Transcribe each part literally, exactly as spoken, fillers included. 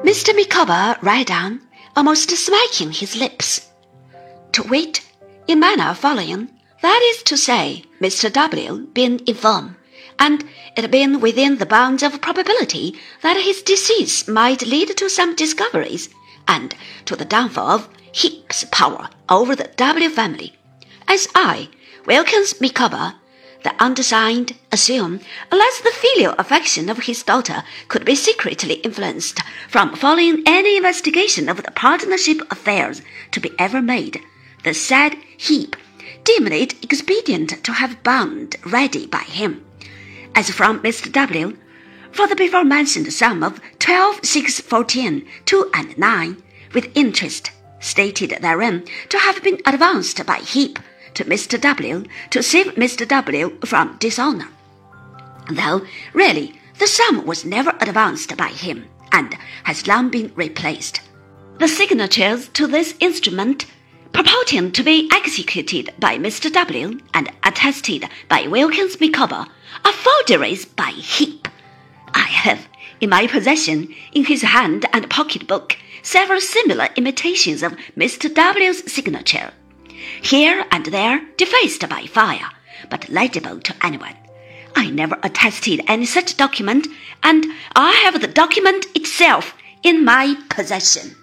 Mister Micawber read on, almost smacking his lips. To wit, in manner following, that is to say, Mister W being infirm, and it being within the bounds of probability that his disease might lead to some discoveries, and to the downfall of Heep's power over the W family, as I, Wilkins Micawber, the undersigned, assume, unless the filial affection of his daughter could be secretly influenced from following any investigation of the partnership affairs to be ever made, the said Heep deemed it expedient to have bond ready by him, as from Mister W, for the before-mentioned sum of twelve six fourteen two and nine, with interest stated therein to have been advanced by Heep to Mister W to save Mister W from dishonor, though really the sum was never advanced by him and has long been replaced. The signatures to this instrument, purporting to be executed by Mister W and attested by Wilkins Micawber, are forgeries by Heep. I have in my possession, in his hand and pocket-book, several similar imitations of Mister W's signature, here and there defaced by fire, but legible to anyone. I never attested any such document, and I have the document itself in my possession.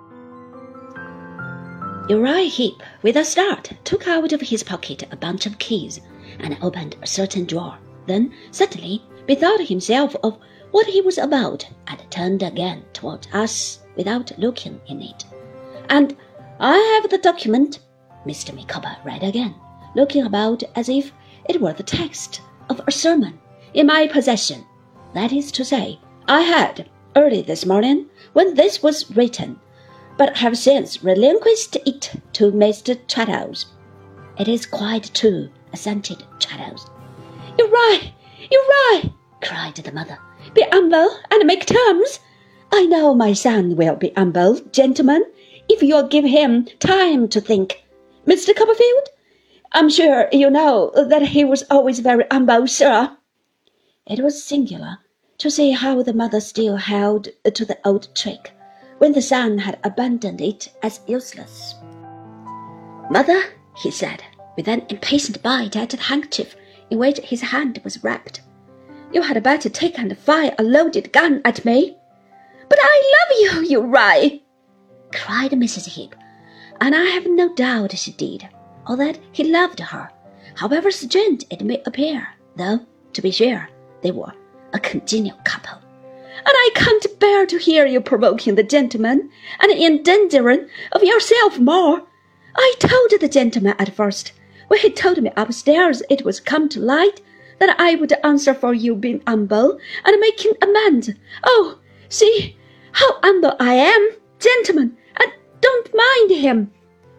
Uriah Heep, with a start, took out of his pocket a bunch of keys and opened a certain drawer. Then suddenly bethought himself of what he was about and turned again toward us without looking in it. And I have the document, Mister Micawber read again, looking about as if it were the text of a sermon, in my possession. That is to say, I had, early this morning, when this was written, but have since relinquished it to Mister Traddles. It is quite true, assented Traddles. You're right, you're right, cried the mother. Be humble and make terms. I know my son will be humble, gentlemen, if you'll give him time to think. Mister Copperfield, I'm sure you know that he was always very humble, sir. It was singular to see how the mother still held to the old trick, when the son had abandoned it as useless. Mother, he said, with an impatient bite at the handkerchief in which his hand was wrapped, you had better take and fire a loaded gun at me. But I love you, Uriah, cried Missus Heep, and I have no doubt she did, or that he loved her, however strange it may appear, though, to be sure, they were a congenial couple. And I can't bear to hear you provoking the gentleman and endangering of yourself more. I told the gentleman at first, when he told me upstairs it was come to light, that I would answer for you being humble and making amends. Oh, see how humble I am, gentlemen, and don't mind him.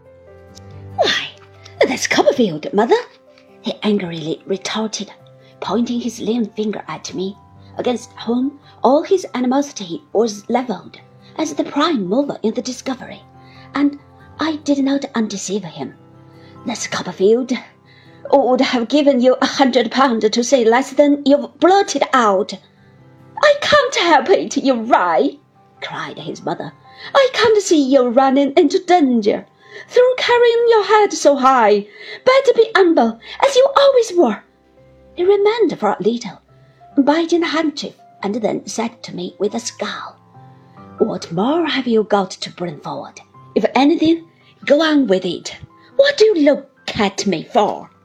Why, that's Copperfield, mother, he angrily retorted, pointing his lean finger at me, against whom all his animosity was levelled, as the prime mover in the discovery, and I did not undeceive him. That's Copperfield would have given you a hundred pounds to say less than you've blurted out. I can't help it, Uriah, cried his mother. I can't see you running into danger through carrying your head so high. Better be humble, as you always were. He remained for a little, biting the handkerchief, and then said to me with a scowl, What more have you got to bring forward? If anything, go on with it. What do you look at me for?